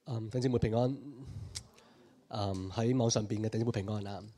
弟兄姊妹平安。喺網上邊嘅弟兄姊妹平安啊。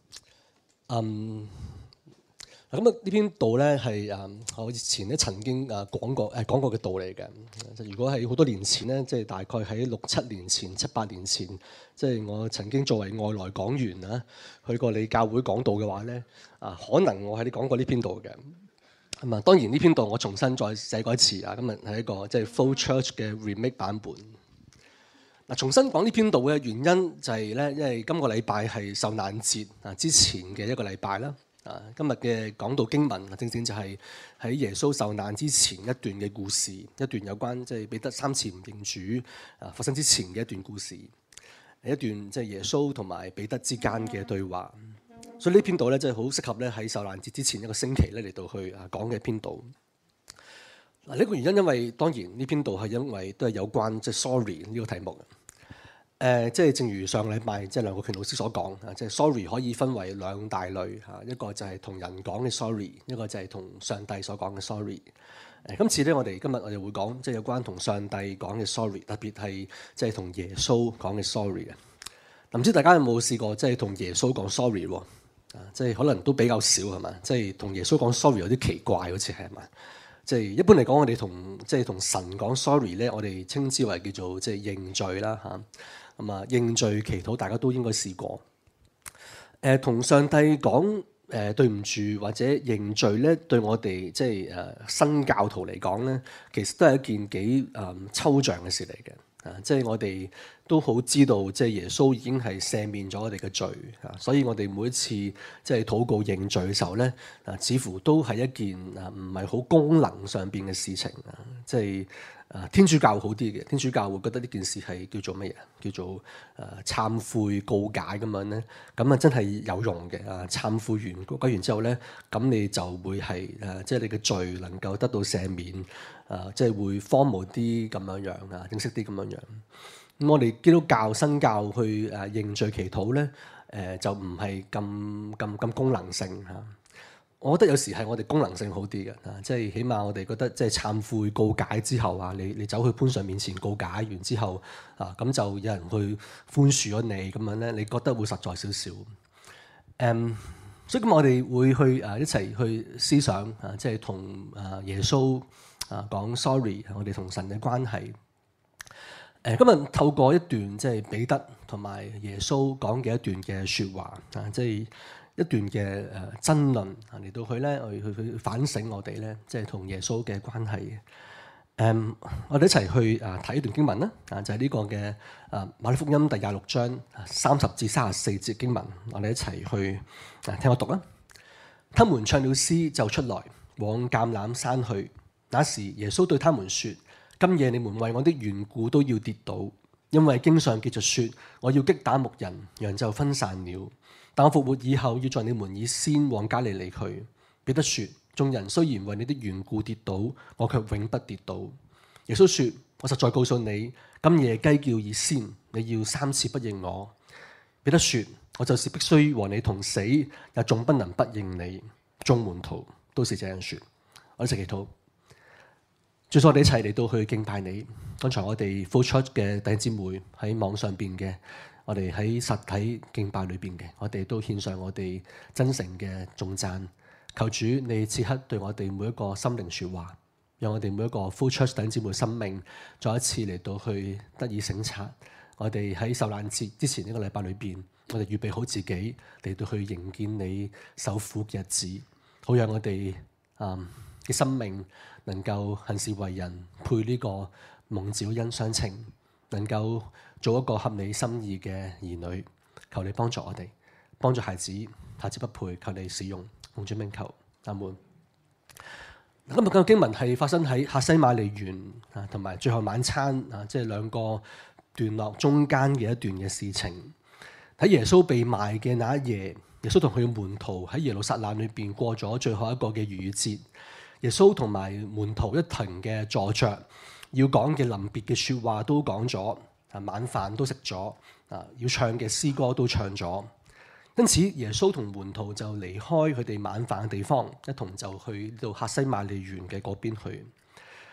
咁呢篇道咧係我以前咧曾經講過嘅道嚟嘅。如果係好多年前咧，即係大概喺6-7年前、7-8年前，即係我曾經作為外來講員啊，去過你教會講道嘅話咧，可能我喺你講過呢篇道嘅。咁啊，當然呢篇道我重新再寫過一次啊。今日係一個即係 Flow Church 嘅 remake 版本。重新講呢篇道嘅原因就係咧，因為今個禮拜係受難節之前嘅一個禮拜啦。今日嘅講道經文正正就係喺耶穌受難之前一段嘅故事，一段有關即係彼得3次唔認主發生之前嘅一段故事，一段即係耶穌同埋彼得之間嘅對話。所以呢篇道咧真係好適合咧喺受難節之前一個星期咧嚟到去講嘅篇道。呢個原因因為當然呢篇道係因為都係有關即係 sorry 呢個題目。即係正如上個禮拜即係梁國權老師所講，即係 sorry 可以分為兩大類嚇，一個就係同人講嘅 sorry， 一個就係同上帝所講嘅 sorry。今次咧，今日我哋會講即係有關同上帝講嘅 sorry， 特別係即係同耶穌講嘅 sorry 嘅。唔知大家有冇試過即係同耶穌講 sorry 喎？即係可能都比較少係嘛？即係同耶穌講 sorry 有啲奇怪，好似係嘛？即係一般嚟講，我哋同神講 sorry 咧，我哋稱之為叫做即係認罪啦嚇。咁啊，認罪祈禱大家都應該試過。同上帝講對唔住或者認罪咧，對我哋即係新教徒嚟講咧，其實都係一件幾抽象嘅事嚟嘅。即係我哋都好知道，即係耶穌已經係赦免咗我哋嘅罪，所以我哋每一次即係禱告認罪嘅時候咧，似乎都係一件唔係好功能上邊嘅事情。即係天主教好啲嘅，天主教會覺得呢件事係叫做乜嘢？叫做懺悔告解咁樣咧，咁啊真係有用嘅。懺悔完告解完之後咧，咁你就會係即係你嘅罪能夠得到赦免，即係會 formal 啲咁樣樣正式啲咁樣樣。咁我哋基督教新教去認罪祈禱咧，就唔係咁功能性嚇。我覺得有時係我哋功能性好啲嘅，即係起碼我哋覺得即係懺悔告解之後你走去潘上面前告解完之後咁就有人去寬恕咗你咁樣咧，你覺得會實在少少。所以咁我哋會去一齊去思想即係同耶穌講 sorry， 我哋同神嘅關係。今日透過一段即係彼得同埋耶穌講嘅一段嘅説話即係一段嘅爭論嚟到去咧，去反省我哋咧，即係同耶穌嘅關係。我哋一齊去睇一段經文啦，就係呢個嘅馬太福音第26章30至34節經文，我哋一齊去聽我讀啦。他們唱了詩就出來往橄欖山去。那時耶穌對他們說：今夜你們為我的緣故都要跌倒，因為經上記着說：我要擊打牧人，羊就分散了。但我復活以後，要在你們以先往加利利去。彼得說：眾人雖然為你的緣故跌倒，我卻永不跌倒。耶穌說：我實在告訴你，今夜雞叫以先，你要3次不認我。彼得說：我就是必須和你同死，也總不能不認你。眾門徒都是這樣說。我哋一齊祈禱。最初我哋一齊嚟到去敬拜你。剛才我哋 Flow Church 嘅弟兄姊妹喺網上邊嘅，我哋喺實體敬拜裏邊嘅，我哋都獻上我哋真誠嘅頌讚。求主你此刻對我哋每一個心靈說話，讓我哋每一個 Flow Church 弟兄姊妹生命再一次嚟到去得以省察。我哋喺受難節之前一個禮拜裏邊，我哋預備好自己嚟到去迎見你受苦嘅日子，好讓我哋嘅生命能夠行事為人，配呢個蒙召恩相稱，能夠做一個合你心意嘅兒女。求你幫助我哋，幫助孩子不配，求你使用，奉主名求，阿門。今日嘅經文係發生喺客西馬尼園同埋最後晚餐即係兩個段落中間嘅一段嘅事情。喺耶穌被賣嘅那一夜，耶穌同佢嘅門徒喺耶路撒冷裏邊過咗最後一個嘅逾越節。耶穌同埋門徒一同嘅坐着，要講嘅臨別嘅説話都講咗，晚飯都食咗，要唱嘅詩歌都唱咗。因此耶穌同門徒就離開佢哋晚飯嘅地方，一同就去到客西馬尼園嘅嗰邊去。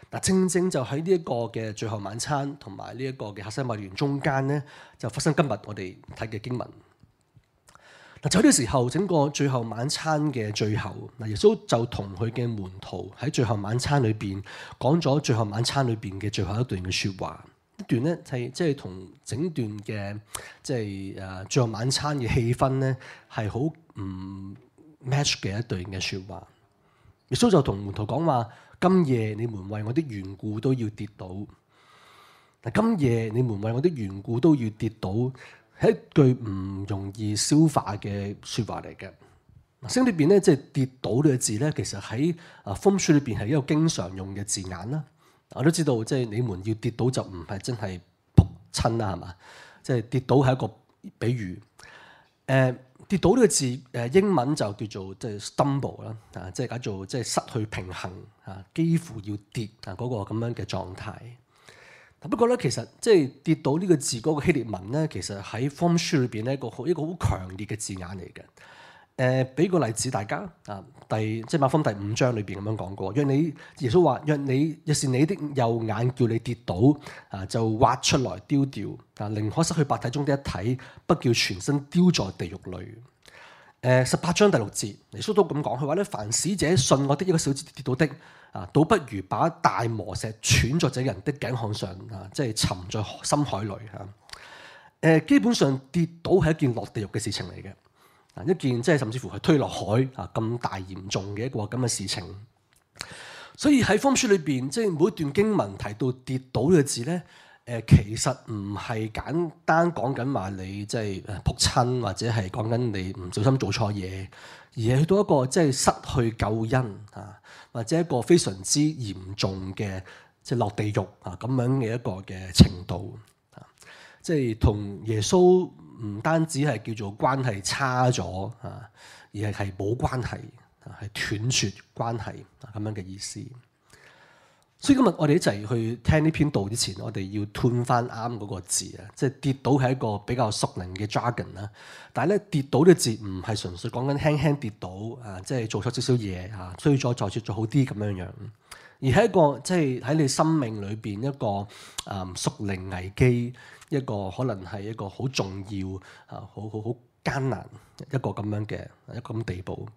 嗱，正正就喺呢一個嘅最後晚餐同埋呢一個嘅客西馬尼園中間咧，就發生今日我哋睇嘅經文。嗱，就喺呢個時候，整個最後晚餐嘅最後，嗱，耶穌就同佢嘅門徒喺最後晚餐裏邊講咗最後晚餐裏邊嘅最後一段嘅説話。一段咧係即係同整段嘅即係最後晚餐嘅氣氛咧係好唔 match 嘅一段嘅説話。耶穌就同門徒講話：今夜你們為我的緣故都要跌倒。嗱，今夜你們為我的緣故都要跌倒，係一句唔容易消化嘅説話嚟嘅。聖經裏邊咧，即係跌倒呢個字咧，其實喺福音書裏邊係一個經常用嘅字眼啦。我都知道，即係你們要跌倒就唔係真係仆親啦，係嘛？即係跌倒係一個比喻。跌倒呢個字，英文就叫做即係 stumble 啦，即係解做即係失去平衡啊，幾乎要跌啊嗰個咁樣嘅狀態。不過咧，其實即係跌倒呢個字嗰個希臘文咧，其實喺福音書裏邊咧一個好強烈嘅字眼嚟嘅。俾個例子大家啊，即係馬可福音第5章裏邊咁樣講過，耶穌話：若是你的右眼叫你跌倒啊，就挖出來丟掉啊，寧可失去百體中的一體，不叫全身丟在地獄裏。18章第6節，耶穌都咁講，佢話咧：凡使者信我的一個小子跌倒的啊，倒不如把大磨石穿在這人的頸項上啊，即係沉在深海裏嚇。基本上跌倒係一件落地獄嘅事情嚟嘅。一件即係甚至乎係推落海啊咁大嚴重嘅一個咁嘅事情，所以喺福音書裏邊，即係每一段經文提到跌倒呢個字咧，其實唔係簡單講緊話你即係仆親，或者係講緊你唔小心做錯嘢，而係去到一個即係失去救恩啊，或者一個非常之嚴重嘅即係落地獄啊咁樣嘅一個嘅程度啊，即係同耶穌唔單止係叫做關係差咗啊，而係冇關係啊，係斷絕關係啊咁樣嘅意思。所以今日我哋一齊去聽呢篇道之前，我哋要吞翻啱嗰個字啊，即係跌倒係一個比較熟齡嘅 jargon 啦。但係咧，跌倒呢個字唔係純粹講緊輕輕跌倒啊，即係做錯少少嘢啊，衰咗再做好啲咁樣樣，而係一個即係喺你生命裏邊一個屬靈危機。一個可能係一個好重要啊，好艱難一個咁樣嘅一個咁地步。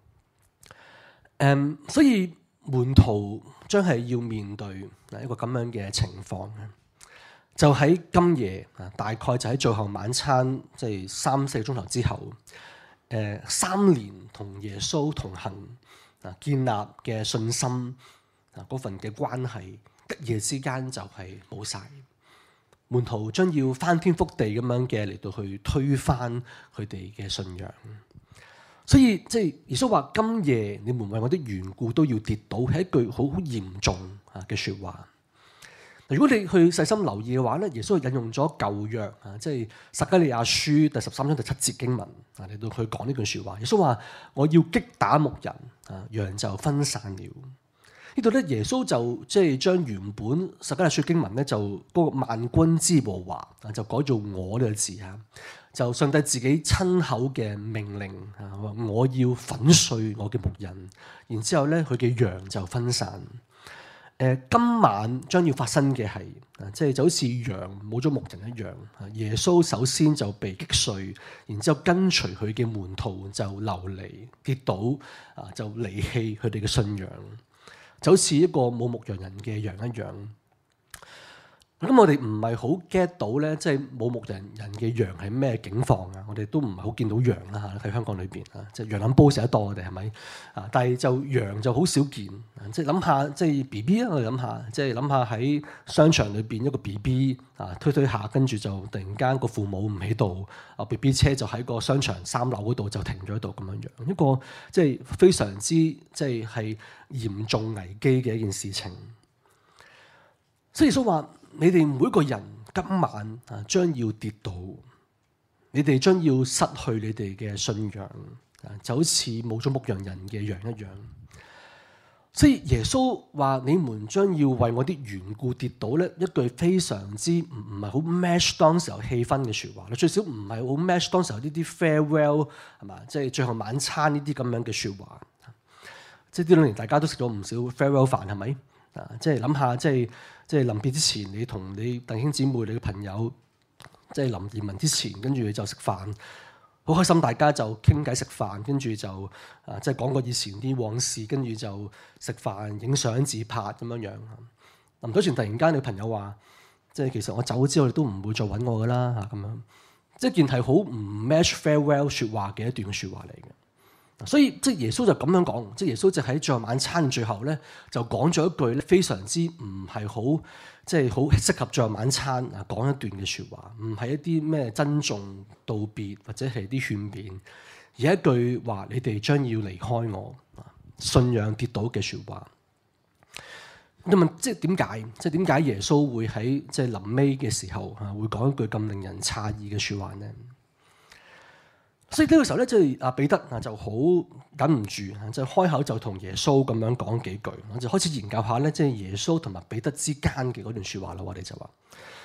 所以門徒將係要面對一個咁樣嘅情況，就喺今夜啊，大概就喺最後晚餐，即係3-4個鐘頭之後，3年同耶穌同行啊，建立嘅信心啊，嗰份嘅關係，一夜之間就係冇晒。門徒將要翻天覆地咁樣嘅嚟到去推翻佢哋嘅信仰，所以即係耶穌話：今夜你們為我的緣故都要跌倒，係一句好嚴重嘅説話。如果你去細心留意嘅話咧，耶穌引用咗舊約啊，即係撒迦利亞書第13章第7節經文啊嚟到去講呢句説話。耶穌話：我要擊打牧人啊，羊就分散了。呢度咧，耶穌就即係將原本撒迦利亞書經文咧，就嗰個萬軍之耶和華啊，就改做我呢個字嚇，就上帝自己親口嘅命令啊，話我要粉碎我嘅牧人，然之後咧佢嘅羊就分散。今晚將要發生嘅係啊，即係就好似羊冇咗牧人一樣啊。耶穌首先就被擊碎，然之後跟隨佢嘅門徒就流離跌倒啊，就離棄佢哋嘅信仰。就好似一個冇牧羊人嘅羊一樣，咁我哋唔係好 get 到咧，即係冇牧羊人嘅羊係咩境況啊？我哋都唔係好見到羊啦嚇，喺香港裏邊啊，即係羊腩煲食得多，我哋係咪啊？但係就羊就好少見，即係諗下，即係 BB 啊，我哋諗下，即係諗下喺商場裏邊一個 BB 啊，推下，跟住就突然間個父母唔喺度，啊 BB 車就喺個商場3樓嗰度就停咗喺度咁樣樣，一個即係非常之即係嚴重危機嘅一件事情。所以耶穌話：你哋每一個人今晚啊將要跌倒，你哋將要失去你哋嘅信仰啊，就好似冇咗牧羊人嘅羊一樣。所以耶穌話：你們將要為我啲緣故跌倒咧，一句非常之唔係好 match 當時候氣氛嘅説話。最少唔係好 match 當時候呢啲 farewell 係嘛，即係最後晚餐呢啲咁樣嘅説話。即係呢兩年大家都食咗唔少 farewell 飯係咪？ 即係諗下，即係臨別之前，你同你弟兄姊妹、你嘅朋友，即係臨移民之前，跟住就食飯，好開心，大家就傾偈食飯，跟住就即係講過以前啲往事，跟住就食飯、影相、自拍咁樣樣。臨走前突然間，你朋友話，即係其實我走咗之後，你都唔會再揾我噶啦嚇咁樣。即係件係好唔 match farewell 説話嘅一段説話嚟嘅。所以即係耶穌就咁樣講，即係耶穌就喺最後晚餐最後咧，就講咗一句咧非常之唔係好，即係好適合最後晚餐講一段嘅説話，唔係一啲咩珍重道別或者係啲勸勉，而係一句話：你哋將要離開我，信仰跌倒嘅説話。你問即係點解？即係點解耶穌會喺即係臨尾嘅時候會講一句咁令人詫異嘅説話呢？所以呢個時候咧，即係阿彼得就好忍唔住，就開口就同耶穌咁樣講幾句，我就開始研究下咧，即係耶穌同埋彼得之間嘅嗰段説話啦。我哋就話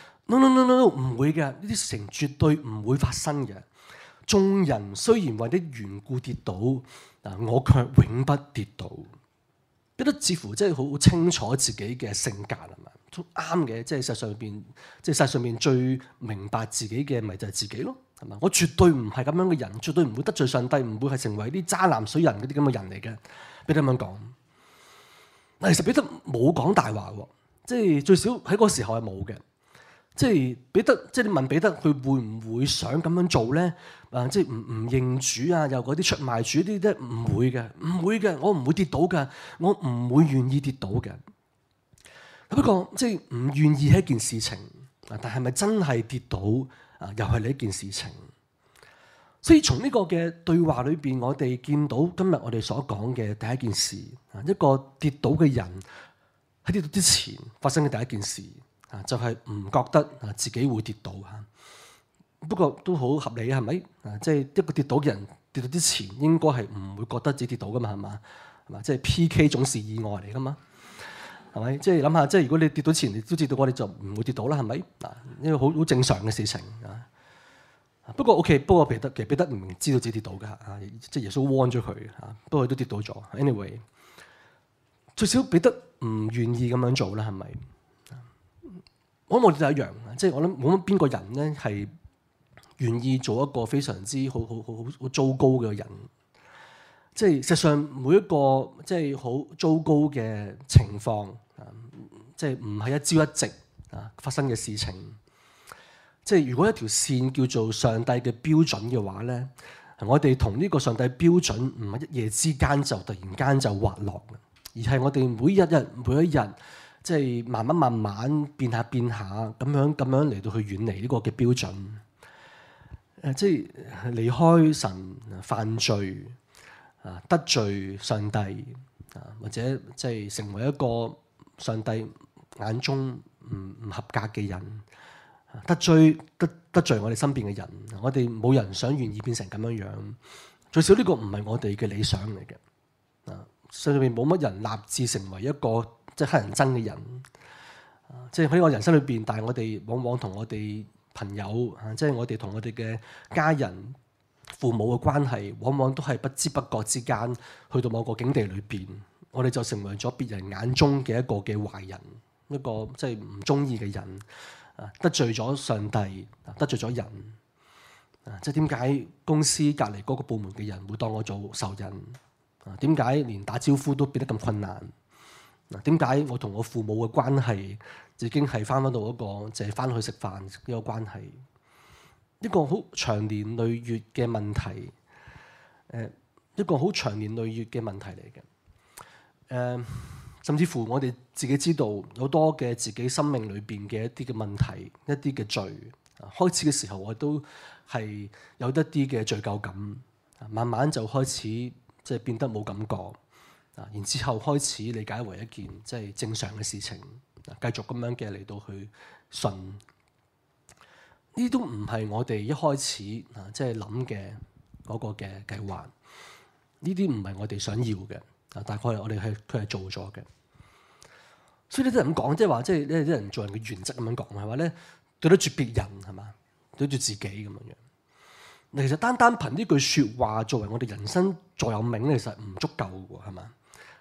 no， 唔會嘅，呢啲事情絕對唔會發生嘅。眾人雖然為啲緣故跌倒，我卻永不跌倒。彼得似乎即係好清楚自己嘅性格係嘛，都啱嘅。即係世上邊最明白自己嘅，咪就係自己咯。係嘛？我絕對唔係咁樣嘅人，絕對唔會得罪上帝，唔會係成為啲渣男水人嗰啲咁嘅人嚟嘅。彼得咁樣講，但其實彼得冇講大話喎，即係最少喺嗰個時候係冇嘅。即係彼得，即係你問彼得，佢會唔會想咁樣做咧？即係唔認主啊，又嗰啲出賣主啲咧，唔會嘅，唔會嘅，我唔會跌倒嘅，我唔會願意跌倒嘅。不過即係唔願意係一件事情，但係咪真係跌倒？又係呢一件事情，所以從呢個嘅對話裏邊，我哋見到今日我哋所講嘅第一件事，一個跌倒嘅人喺跌倒之前發生嘅第一件事，就係唔覺得自己會跌倒嚇。不過都好合理，係咪？即係一個跌倒嘅人跌倒之前，應該係唔會覺得自己跌倒噶嘛，係嘛？係嘛？即係 PK 總是意外嚟噶嘛。係咪？即係諗下，即係如果你跌倒前，你都知道我哋就唔會跌倒啦，係咪？嗱，呢個好正常嘅事情啊。不過 OK， 不過彼得唔知道自己跌倒㗎嚇，即係耶穌 warn 咗佢嚇，不過佢都跌倒咗。Anyway， 最少彼得唔願意咁樣做啦，係咪？我諗我哋都一樣，即係我諗冇乜邊個人咧係願意做一個非常之好糟糕嘅人。即係實際上每一個即係好糟糕嘅情況，即係唔係一朝一夕發生嘅事情。即係如果一條線叫做上帝嘅標準嘅話咧，我哋同呢個上帝標準唔係一夜之間就突然間就滑落，而係我哋每一日即係慢慢變下咁樣嚟到去遠離呢個嘅標準。即係離開神，犯罪。得罪上帝或者即係成為一個上帝眼中唔合格嘅人，得罪我哋身邊嘅人，我哋冇人想願意變成咁樣樣。最少呢個唔係我哋嘅理想嚟嘅。世上面冇乜人立志成為一個即係乞人憎嘅人。即係喺我人生裏邊，但係我哋往往同我哋朋友即係我哋同我哋嘅家人。父母嘅關係往往都係不知不覺之間去到某個境地裏邊，我哋就成為咗別人眼中嘅一個嘅壞人，一個即係唔中意嘅人，得罪咗上帝，得罪咗人。即係點解公司隔離嗰個部門嘅人會當我做仇人？點解連打招呼都變得咁困難？點解我同我父母嘅關係已經係翻到一個淨係翻去食飯呢個關係？一個好長年累月嘅問題，一個好長年累月嘅問題嚟嘅。甚至乎我哋自己知道好多嘅自己生命裏邊嘅一啲嘅問題，一啲嘅罪。開始嘅時候我都係有一啲嘅罪疚感，慢慢就開始即係變得冇感覺。然之後開始理解為一件即係正常嘅事情，繼續咁樣嘅嚟到去信。呢啲都唔係我哋一開始即係諗嘅嗰個嘅計劃。呢啲唔係我哋想要嘅。大概我哋佢係做咗嘅。所以呢啲人咁講，即係話，即係呢啲人做人嘅原則咁樣講，係話咧對得住別人係嘛，對得住自己咁樣樣。其實單憑呢句説話作為我哋人生座右銘咧，其實唔足夠嘅喎，係嘛？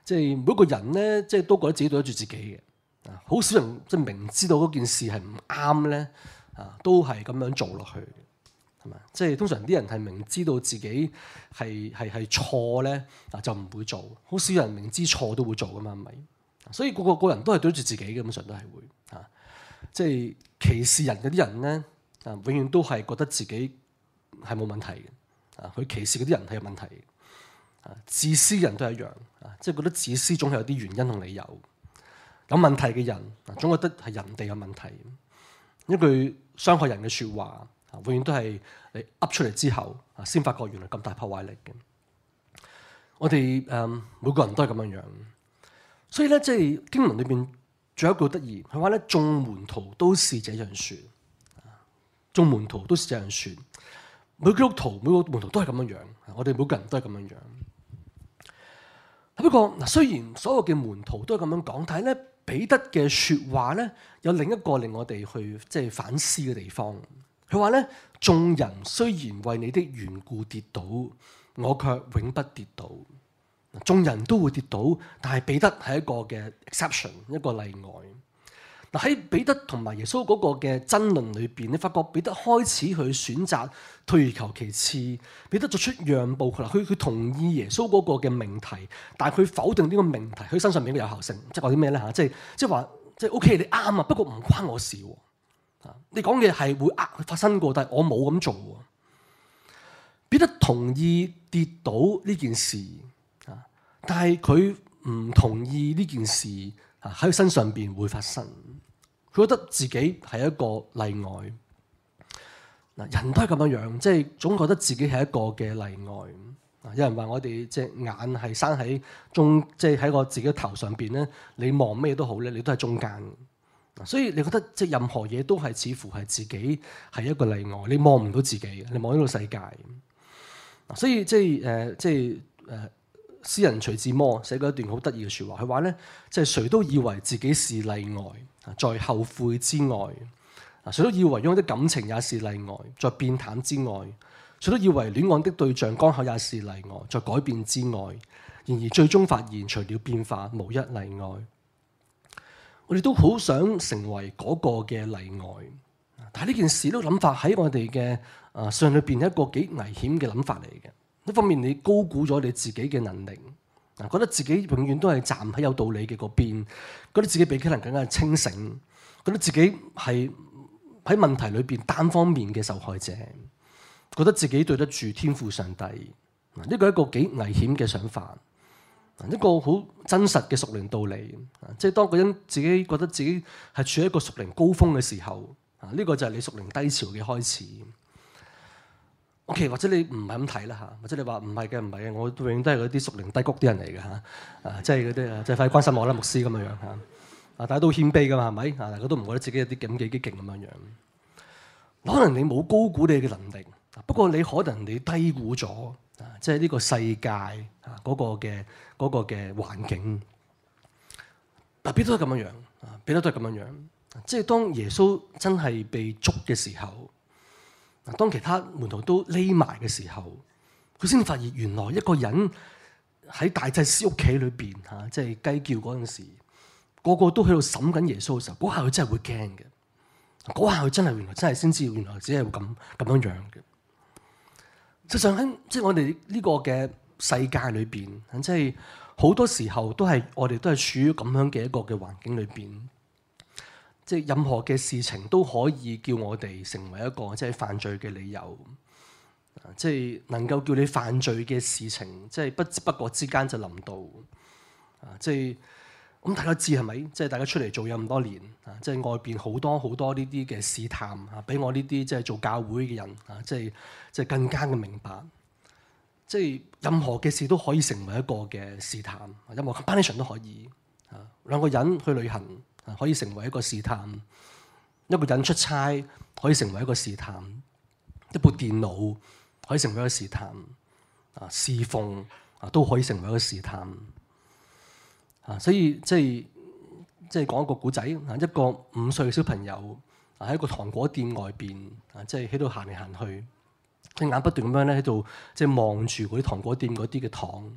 即係每一個人咧，即係都覺得自己對得住自己嘅。好少人即係明知道嗰件事係唔啱咧，都係咁樣做落去，係咪？即係通常啲人係明知道自己係錯咧，就唔會做。好少人明知錯都會做噶嘛，係咪？所以個人都係對得住自己嘅，基本上都係會即係歧視人嗰啲人咧，永遠都係覺得自己係冇問題嘅。佢歧視嗰啲人係有問題嘅。自私人都係一樣，即係覺得自私總係有啲原因同理由。有問題嘅人，總覺得係人哋有問題。一句傷害人嘅説話，永遠都係你噏出嚟之後，先發覺原來咁大破壞力嘅。我哋每個人都係咁樣樣，所以咧，即係經文裏邊仲有一句得意，佢話咧，眾門徒都是這樣説，眾門徒都是這樣説。每個基督徒、每個門徒都係咁樣樣，我哋每個人都係咁樣樣。不過嗱，雖然所有嘅門徒都係咁樣講，但係咧，彼得嘅説話咧，有另一個令我哋去即係反思嘅地方。佢話咧，眾人雖然為你的緣故跌倒，我卻永不跌倒。眾人都會跌倒，但係彼得係一個嘅 exception， 一個例外。嗱，喺彼得同埋耶穌嗰個嘅爭論裏邊，你發覺彼得開始去選擇退而求其次，彼得作出讓步。佢同意耶穌嗰個嘅命題，但係佢否定呢個命題佢身上面嘅有效性。即係話啲咩咧嚇？即係話即係 OK，你啱啊，不過唔關我事喎。你講嘅係會發生過，但係我冇咁做喎。彼得同意跌倒呢件事啊，但係佢唔同意呢件事喺佢身上邊會發生。佢覺得自己係一個例外。嗱，人都係咁樣樣，即係總覺得自己係一個嘅例外。有人話我哋隻眼係生喺中，即係喺個自己嘅頭上邊咧，你望咩都好咧，你都係中間。所以你覺得即係任何嘢都係似乎係自己係一個例外，你望唔到自己，你望呢個世界。所以即係詩人徐志摩寫過一段好得意嘅説話，佢話咧，即係誰都以為自己是例外，在後悔之外；誰都以為擁有的感情也是例外，在變淡之外；誰都以為戀愛的對象剛好也是例外，在改變之外。然而最終發現，除了變化，無一例外。我哋都好想成為嗰個嘅例外，但係呢件事呢個諗法喺我哋嘅信裏邊係一個幾危險嘅諗法嚟嘅。一方面你高估咗你自己嘅能力，覺得自己永遠都係站喺有道理嘅嗰邊，覺得自己比其他人更加清醒，覺得自己係喺問題裏邊單方面嘅受害者，覺得自己對得住天父上帝。呢個係一個幾危險嘅想法，一個好真實嘅屬靈道理。即係當個人自己覺得自己係處喺一個屬靈高峰嘅時候，呢個就係你屬靈低潮嘅開始。OK， 或者你唔係咁睇啦嚇，或者你話唔係嘅，唔係嘅，我永遠都係嗰啲屬靈低谷啲人嚟嘅嚇，即係嗰啲即係快啲關心我啦，牧師咁樣樣嚇。大家都謙卑噶嘛，係咪？大家都唔覺得自己有啲咁幾勁咁樣樣。可能你冇高估你嘅能力，不過你可能你低估咗即係呢個世界嗰個嘅環境。彼得都係咁樣樣，彼得都係咁樣樣。即係當耶穌真係被捉嘅時候。當其他門徒都匿埋嘅時候，佢先發現原來一個人喺大祭司屋企裏邊即係雞叫嗰陣時，個個都喺度審緊耶穌嘅時候，嗰下佢真係會驚嘅。嗰下佢真係原來真係先知道原來只係會咁樣樣嘅。實際上喺即係我哋呢個嘅世界裏邊，即係好多時候都係我哋都係處於咁樣嘅一個嘅環境裏邊。即係任何嘅事情都可以叫我哋成為一個即係犯罪嘅理由，即係能夠叫你犯罪嘅事情，即係不知不覺之間就臨到，即係咁大家知係咪？即係大家出嚟做嘢咁多年，即係外邊好多呢啲嘅試探，俾我呢啲即係做教會嘅人，即係更加嘅明白，即係任何嘅事都可以成為一個嘅試探，任何 combination 都可以，兩個人去旅行。可以成為一個試探，一個人出差可以成為一個試探，一部電腦可以成為一個試探，侍奉都可以成為一個試探。所以即係講一個古仔，一個5歲嘅小朋友喺一個糖果店外邊，即係喺度行嚟行去，隻眼不斷咁樣咧喺度即係望住嗰啲糖果店嗰啲嘅糖，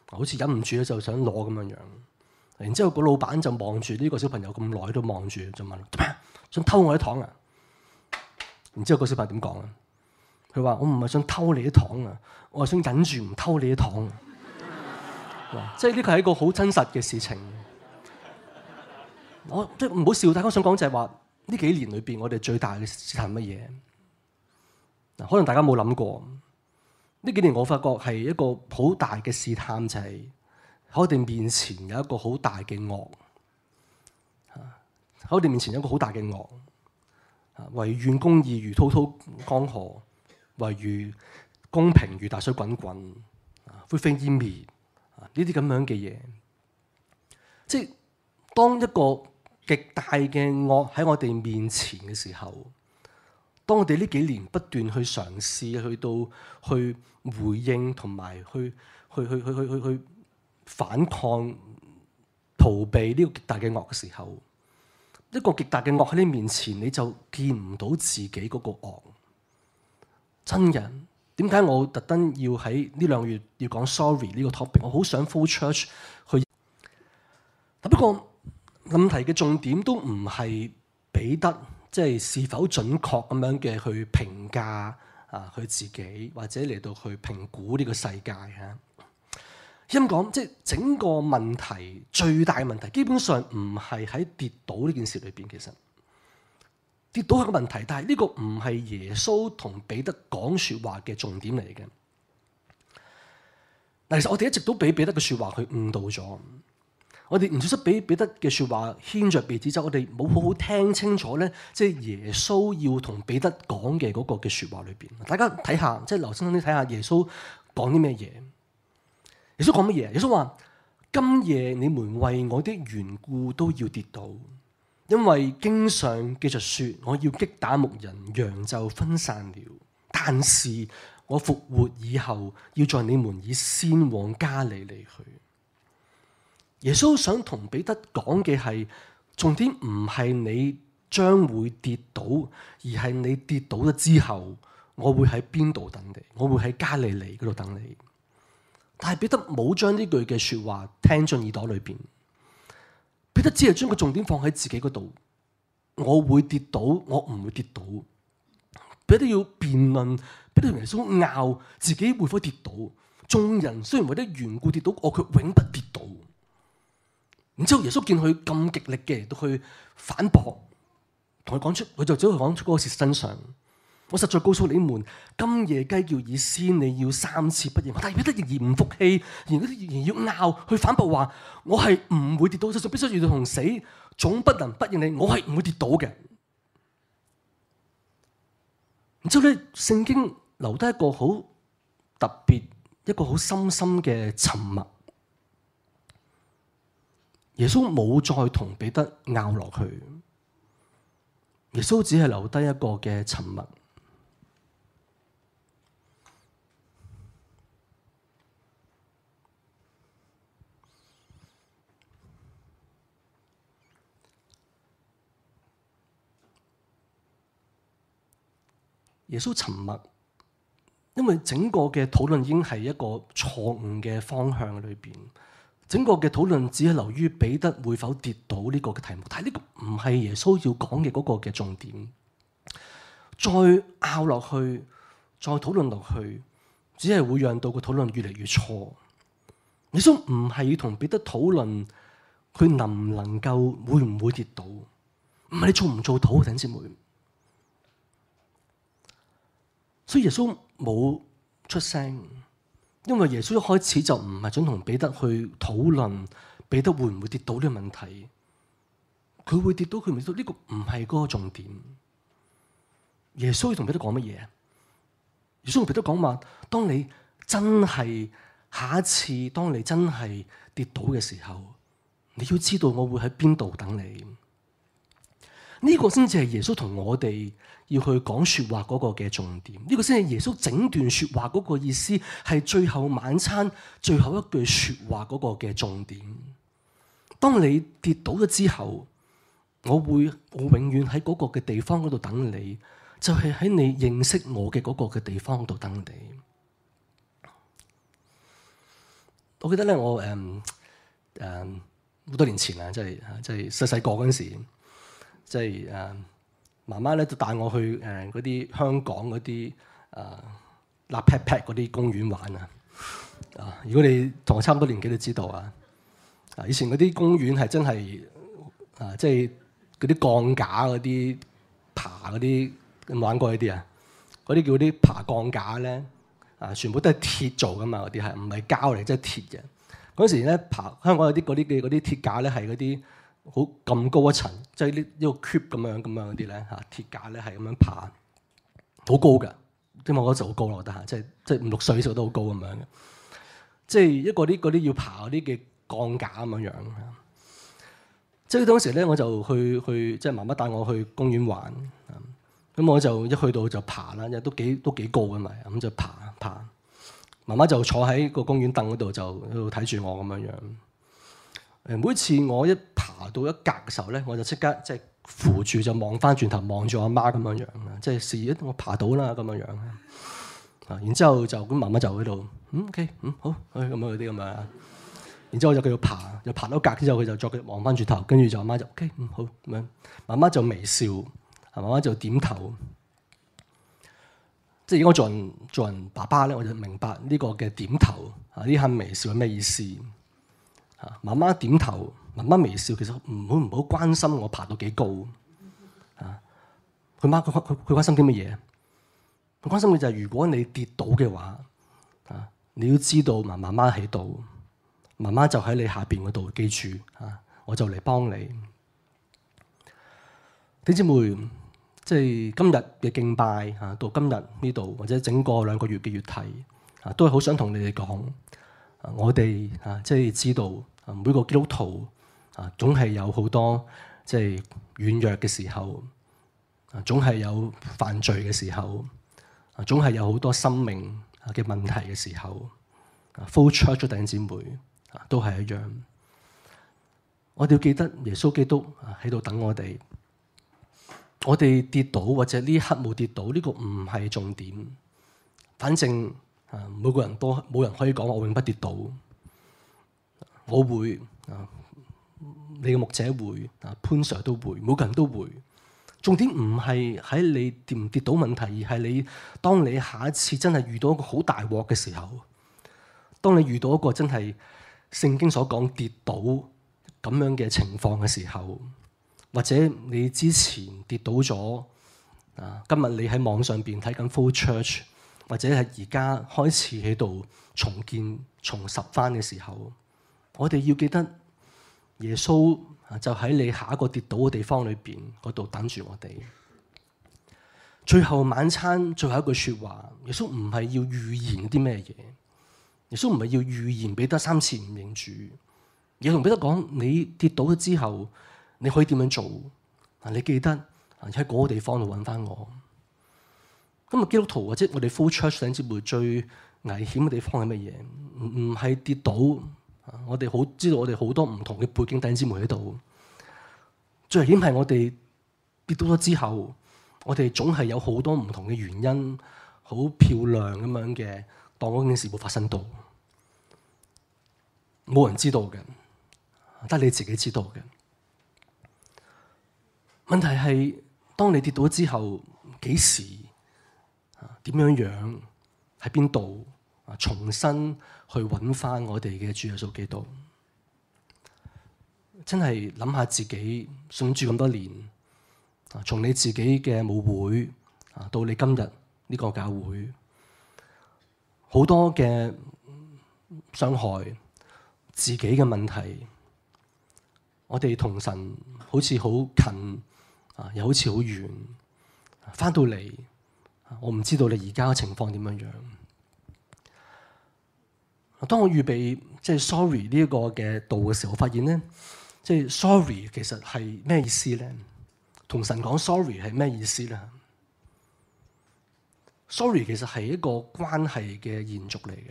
好似忍唔住咧就想攞咁樣樣。然之後個老闆就望住呢個小朋友咁耐都望住，就問：做咩？想偷我啲糖啊？然之後個小朋友點講啊？佢話：我唔係想偷你啲糖啊，我係想忍住唔偷你啲糖。即係呢個係一個好真實嘅事情。我即係唔好笑，大家想講就係話呢幾年裏邊，我哋最大嘅試探係乜嘢？嗱，可能大家冇諗過，呢幾年我發覺係一個好大嘅試探，就係喺我哋面前有一個好大嘅惡。喺我哋面前有一個好大嘅惡，唯願公義如滔滔江河，唯願公平如大水滾滾，灰飛煙滅。呢啲咁樣嘅嘢，即係當一個極大嘅惡喺我哋面前嘅時候，當我哋呢幾年不斷去嘗試去到去回應同埋去反抗、逃避呢個極大嘅惡嘅時候，一個極大嘅惡喺你面前，你就見唔到自己嗰個惡。真人。點解我特登要喺呢2個月要講 sorry 呢個 topic？ 我好想 full church 去。不過問題嘅重點都唔係彼得即係是否準確咁樣嘅去評價佢自己，或者嚟到去評估呢個世界嚇。咁講即係整個問題最大嘅問題，基本上唔係喺跌倒呢件事裏邊，其實。跌倒係個問題，但係呢個唔係耶穌同彼得講説話嘅重點嚟嘅。嗱，其實我哋一直都俾彼得嘅説話去誤導咗，我哋唔小心俾彼得嘅説話牽着鼻子走，我哋冇好好聽清楚咧，即係耶穌要同彼得講嘅嗰個嘅説話裏邊。大家睇下，即係留心啲睇下耶穌講啲咩嘢。耶穌講乜嘢？耶穌話：今夜你們為我的緣故都要跌倒。因為經上記着說，我要擊打牧人，羊就分散了。但是我復活以後，要在你們以先往加利利去。耶穌想同彼得講嘅係，重點唔係你將會跌倒，而係你跌倒咗之後，我會喺邊度等你？我會喺加利利嗰度等你。但係彼得冇將呢句嘅說話聽進耳朵裏邊。彼得只係將個重點放喺自己嗰度，我會跌倒，我唔會跌倒。彼得要辯論，彼得同耶穌拗自己會否跌倒。眾人雖然為咗緣故跌倒，我卻永不跌倒。然之後耶穌見佢咁極力嘅都去反駁，同佢講出，佢就只係講出嗰個事實真相。我實在告訴你們，今夜雞叫以先，你要3次不認。但係彼得仍然唔服氣，仍然要拗去反駁話：我係唔會跌倒，就算必須遇到同死，總不能不認你。我係唔會跌倒嘅。然之後咧，聖經留低一個好特別、一個好深深嘅沉默。耶穌冇再同彼得拗落去，耶穌只係留低一個嘅沉默。耶穌沉默，因為整個嘅討論已經係一個錯誤嘅方向裏邊，整個嘅討論只係流於彼得會否跌倒呢個嘅題目，但係呢個唔係耶穌要講嘅嗰個嘅重點。再拗落去，再討論落去，只係會讓到個討論越嚟越錯。耶穌唔係要同彼得討論佢能唔能夠會唔會跌倒，唔係你做唔做到，弟兄姊妹。所以耶穌冇出聲，因為耶穌一開始就唔係想同彼得去討論彼得會唔會跌倒呢個問題。佢會跌倒，佢唔跌倒，呢個唔係嗰個重點。耶穌要同彼得講乜嘢？耶穌同彼得講話：當你真係下一次，當你真係跌倒嘅時候，你要知道我會喺邊度等你。呢個先至係耶穌同我哋要去講說話嗰個嘅重點，呢個先係耶穌整段說話嗰個意思，係最後晚餐最後一句說話嗰個嘅重點。當你跌倒咗之後，我永遠喺嗰個嘅地方嗰度等你，就係喺你認識我嘅嗰個嘅地方度等你。 我記得咧，我好多年前啊，即係細細個嗰陣時，即係媽媽咧就帶我去嗰啲香港嗰啲立 pat pat 嗰啲公園玩啊！如果你同我差唔多年紀都知道啊，以前嗰啲公園係真係即係嗰啲鋼架嗰啲爬嗰啲，有冇玩過呢啲啊？嗰啲叫啲爬鋼架咧，全部都係鐵做噶嘛，嗰啲係唔係膠嚟，即係鐵嘅。嗰時咧香港有啲嗰啲鐵架咧係嗰啲好咁高一層，即係呢個 cube 咁樣嗰啲咧鐵架咧係咁樣爬，好高㗎。因為我嗰時好高咯，我覺得即係5、6歲時候都好高咁樣嘅。即係一個嗰啲要爬嗰啲嘅鋼架咁樣。即係當時咧我就去即係媽媽帶我去公園玩，咁我就一去到就爬啦，因為都幾高㗎嘛，咁就爬。媽媽就坐喺個公園凳嗰度就喺度睇住我咁樣。每次我一爬到一格嘅時候咧，我就即刻即係扶住就望翻轉頭望住我媽咁樣，即係示意我爬到啦咁樣。然之後就咁媽媽就喺度，OK， 好，咁樣嗰啲咁樣。然之後我就繼續爬，又爬到格之後，佢就再望翻轉頭，跟住就媽媽就 OK， 好咁樣。媽媽就微笑，媽媽就點頭。即係如果做人爸爸咧，我就明白呢個嘅點頭呢下微笑係咩意思。媽媽點頭，媽媽微笑，其實唔好關心我爬到幾高。佢關心啲乜嘢？佢關心嘅就係如果你跌倒嘅話，你要知道媽媽喺度，媽媽就喺你下邊嗰度，記住我就嚟幫你。弟兄姊妹，即係今日嘅敬拜到今日呢度，或者整個2個月嘅月題都係好想同你哋講，我哋即係知道每個基督徒總係有好多即係軟弱嘅時候，總係有犯罪嘅時候，總係有好多生命嘅問題嘅時候。Flow Church 弟兄姊妹都係一樣，我哋要記得耶穌基督喺度等我哋。我哋跌倒或者呢一刻冇跌倒，呢個唔係重點。反正每個人都冇人可以講我永不跌倒。我會你嘅牧者會潘 Sir 都會，每個人都會。重點唔係喺你跌唔跌倒問題，而係你當你下一次真係遇到一個好大鑊嘅時候，當你遇到一個真係聖經所講跌倒咁樣嘅情況嘅時候。或者你之前跌倒咗，今日你喺網上邊睇緊 Flow Church，或者係而家開始喺度重建、重拾翻嘅時候，我哋要記得耶穌就喺你下一個跌倒嘅地方裏邊嗰度等住我哋。最後晚餐最後一句說話，耶穌唔係要預言啲咩嘢，耶穌唔係要預言彼得3次唔認主，而係同彼得講：你跌倒咗之後。你可以點樣做？你記得喺嗰個地方度揾翻我。今日基督徒或者我哋 Flow Church 弟兄姊妹最危險嘅地方係乜嘢？唔係跌倒。我哋好知道我哋好多唔同嘅背景弟兄姊妹喺度。最危險係我哋跌倒咗之後，我哋總係有好多唔同嘅原因，好漂亮咁樣嘅當嗰件事冇發生到，冇人知道嘅，得你自己知道嘅。問題係，當你跌倒之後，幾時點樣喺邊度重新去揾翻我哋嘅主耶穌基督？真係諗下自己信主咁多年，從你自己嘅母會到你今日呢個教會，好多嘅傷害，自己嘅問題，我哋同神好似好近。又好似好遠，翻到嚟，我唔知道你而家嘅情況點樣樣。當我預備即係 sorry 呢一個嘅道嘅時候，我發現咧，即係 sorry 其實係咩意思咧？同神講 sorry 係咩意思咧？ sorry 其實係一個關係嘅延續嚟嘅。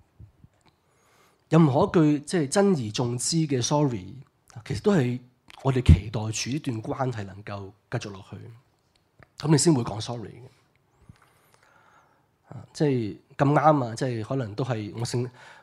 任何一句即係珍而重之嘅 sorry，其實都係。我哋期待住呢段關係能夠繼續落去，咁你先會講 sorry 嘅。即係咁啱啊！即係可能都係我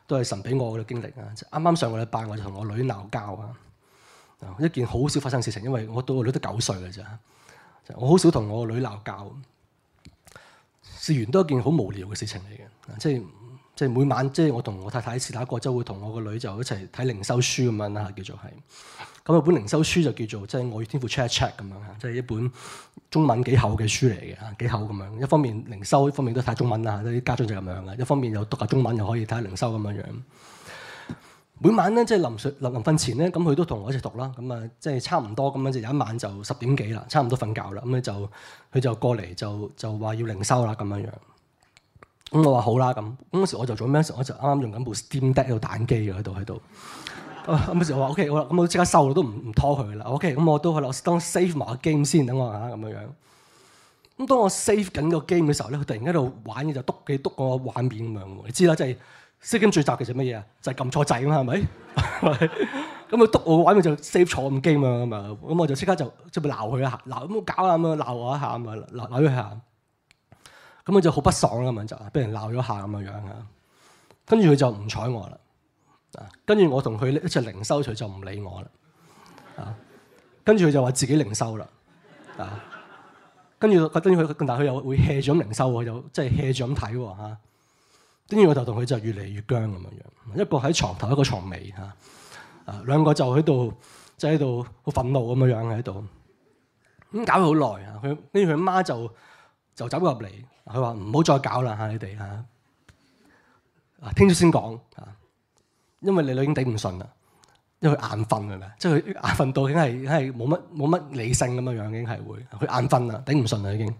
都係神俾我嘅經歷啊！啱啱上個禮拜我就同我女鬧交啊，一件好少發生嘅事情，因為我到個女都9歲嘅咋，我好少同我個女鬧交。事緣都係一件好無聊嘅事情嚟嘅，即係每晚即係我同我太太試打過，就會同我個女就一齊睇靈修書咁樣啦，叫做係。咁有本靈修書就叫做即係我與天父 check check 咁樣嚇，即係一本中文幾厚嘅書嚟嘅嚇，幾厚咁樣。一方面靈修，一方面都睇中文啦，啲家長就咁樣嘅。一方面又讀下中文，又可以睇下靈修咁樣樣。每晚咧即係臨瞓前咧，咁佢都同我一齊讀啦。咁啊即係差唔多咁樣，就有一晚就10點幾啦，差唔多瞓覺啦。咁咧佢就過嚟就話要靈修啦咁樣樣。咁我話好啦咁嗰時我就做咩？我就啱啱用緊部 Steam Deck 喺度打機嘅喺度。咁時我話 OK， 好啦，咁我即刻收啦，都唔拖佢啦。OK，咁我都去啦，我當 save 埋個 game 先，等我嚇咁樣樣。咁當我 save 緊個 game 嘅時候咧，佢突然間喺度玩嘢就篤個畫面咁樣喎。你知啦，即係 save game 最雜嘅就乜嘢啊？就係撳錯掣啊嘛，係咪？咁佢篤我個畫面就 save 錯咁 game 啊嘛。咁我就即刻就即係鬧佢一下，鬧咁搞啊咁樣鬧我一下咁啊，鬧咗佢下。咁佢就好不爽啦，咁就俾人鬧咗下咁樣樣嚇。跟住佢就唔睬我啦。跟住我同佢一齊靈修，佢就唔理我啦。跟住佢就話自己靈修啦。跟住佢，但係佢又會 hea 住咁靈修喎，又即係 hea 住咁睇喎嚇。跟住我就同佢就越嚟越僵咁樣樣，一個喺床頭，一個床尾嚇。兩個就喺度，即係喺度好憤怒咁樣樣喺度。咁搞咗好耐啊！跟住佢媽就走入嚟，佢話唔好再搞啦嚇，你哋嚇。聽朝先講嚇。因為你女已經頂唔順啦，因為佢眼瞓係咪？即係佢眼瞓到已經係冇乜理性咁樣樣，已經係會佢眼瞓啦，頂唔順啦已經。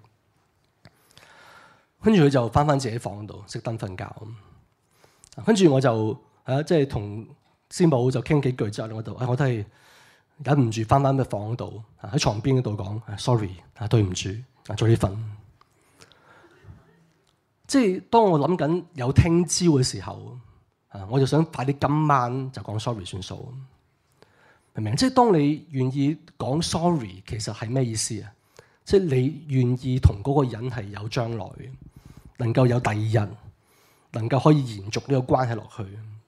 跟住佢就翻自己房度熄燈瞓覺。跟住我就即係同師母就傾幾句之後，我都係忍唔住翻嘅房度喺床邊嗰度講 sorry 對唔住早啲瞓。即係當我諗緊有聽朝嘅時候。我就想快啲今晚就講 sorry 算數，明唔明？即係當你願意講 sorry，其實係咩意思啊？即係你願意同嗰個人係有將來嘅，能夠有第二日，能夠可以延續呢個關係落去。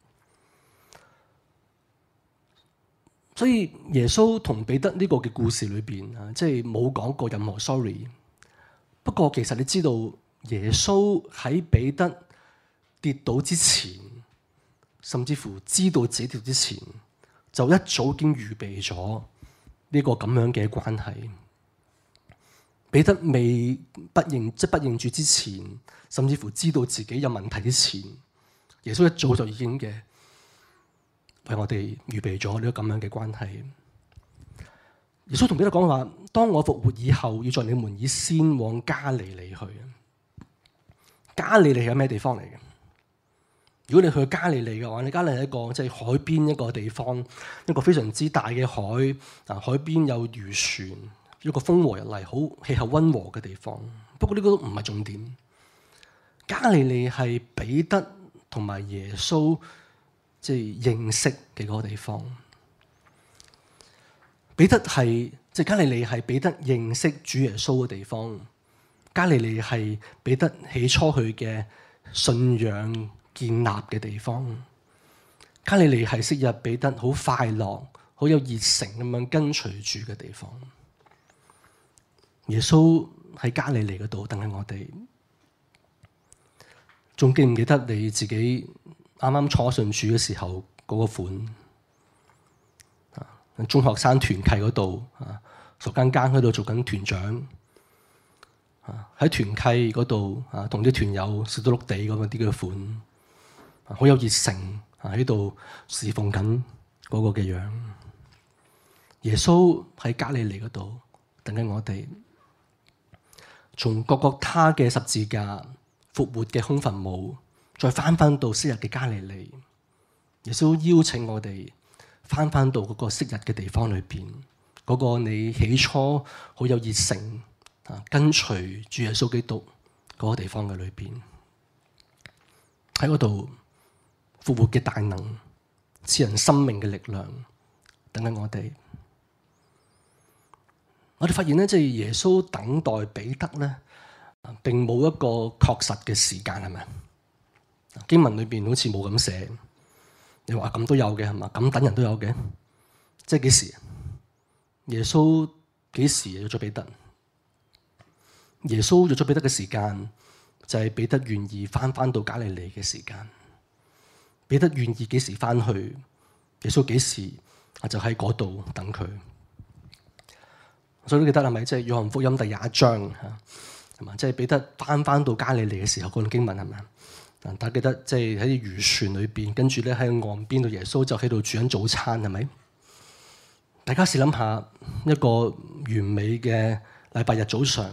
所以耶穌同彼得呢個嘅故事裏邊啊，即係冇講過任何 sorry。不過其實你知道耶穌喺彼得跌倒之前，甚至乎知道自己跌之前，就一早已經預備咗呢個咁樣嘅關係。彼得未不認主之前，甚至乎知道自己有問題之前，耶穌一早就已經嘅為我哋預備咗呢個咁樣嘅關係。耶穌同彼得講話：當我復活以後，要在你們以先往加利利去。加利利係咩地方嚟嘅？如果你去加利利嘅話，你加利利係一個即係海邊一個地方，一個非常之大嘅海，海邊有漁船，一個風和日麗、好氣候溫和嘅地方。不過呢個都唔係重點。加利利係彼得同埋耶穌即係認識嘅嗰個地方。彼得係即係加利利係彼得認識主耶穌嘅地方。加利利係彼得起初去嘅信仰建立嘅地方。加利利係昔日彼得好快樂、好有熱誠咁樣跟隨主嘅地方。耶穌喺加利利嗰度等緊我哋。仲記唔記得你自己啱啱初信主嘅時候嗰個款？中學生團契嗰度熟更更喺度做緊團長。喺團契嗰度同啲團友笑到碌地咁啲嘅款，好有熱誠喺度侍奉緊嗰個嘅樣。耶穌喺加利利嗰度等緊我哋，從各各他嘅十字架復活嘅空墳墓，再翻到昔日嘅加利利。耶穌邀請我哋翻到嗰個昔日嘅地方裏邊，嗰個你起初好有熱誠跟隨主耶穌基督嗰個地方嘅裏邊，喺嗰度復活嘅大能，賜人生命嘅力量，等緊我哋。我哋發現咧，即係耶穌等待彼得咧，並冇一個確實嘅時間，係咪？經文裏邊好似冇咁寫， 你話咁都有嘅係嘛？咁等人都有嘅，即係幾時？耶穌幾時約咗彼得？耶穌約咗彼得嘅時間就係彼得願意翻到加利利嘅時間。彼得願意幾時翻去？耶穌幾時就喺嗰度等佢。所以都記得係咪？即係約翰福音第21章嚇，係嘛？即係彼得翻到加利利嘅時候，嗰段經文係咪？大家記得即係喺啲漁船裏邊，跟住咧喺岸邊度，耶穌就喺度煮緊早餐，係咪？大家試諗下一個完美嘅禮拜日早上，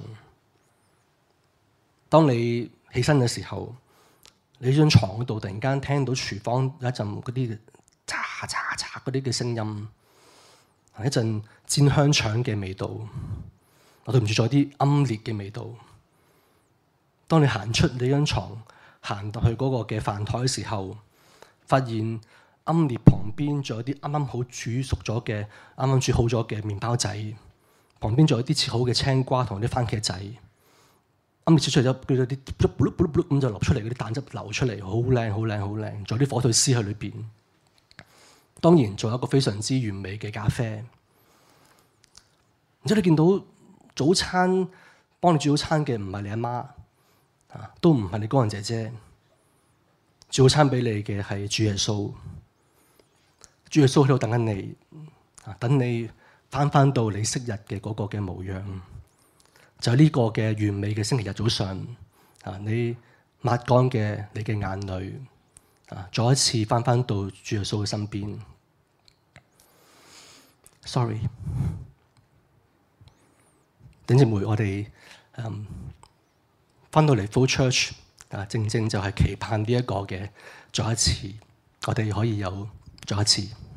當你起身嘅時候，你張床嗰度突然間聽到廚房有一陣嗰啲嚓嚓嚓嗰啲嘅聲音，一陣煎香腸嘅味道，我對唔住，仲有啲奄列嘅味道。當你行出你張床，行到去嗰個嘅飯台嘅時候，發現奄列旁邊仲有啲啱啱好煮熟咗嘅、啱啱煮好咗嘅麵包仔，旁邊仲有啲切好嘅青瓜同啲番茄仔。奄列切出嚟咗，佢啲咁就流出嚟，嗰啲蛋汁流出嚟，好靚，好靚，好靚。仲有啲火腿絲喺裏邊。當然仲有一個非常之完美嘅咖啡。然之後你見到早餐幫你煮早餐嘅唔係你阿媽，都唔係你工人姐姐，煮早餐俾你嘅係主耶穌。主耶穌喺度等緊你，等你翻到你昔日嘅嗰個嘅模樣。就係呢個嘅完美嘅星期日早上，你抹乾嘅你嘅眼淚，再一次翻到主耶穌嘅身邊。Sorry， 弟兄姊妹，我哋翻到嚟 Flow Church，正正就係期盼呢一個嘅再一次，我哋可以有再一次。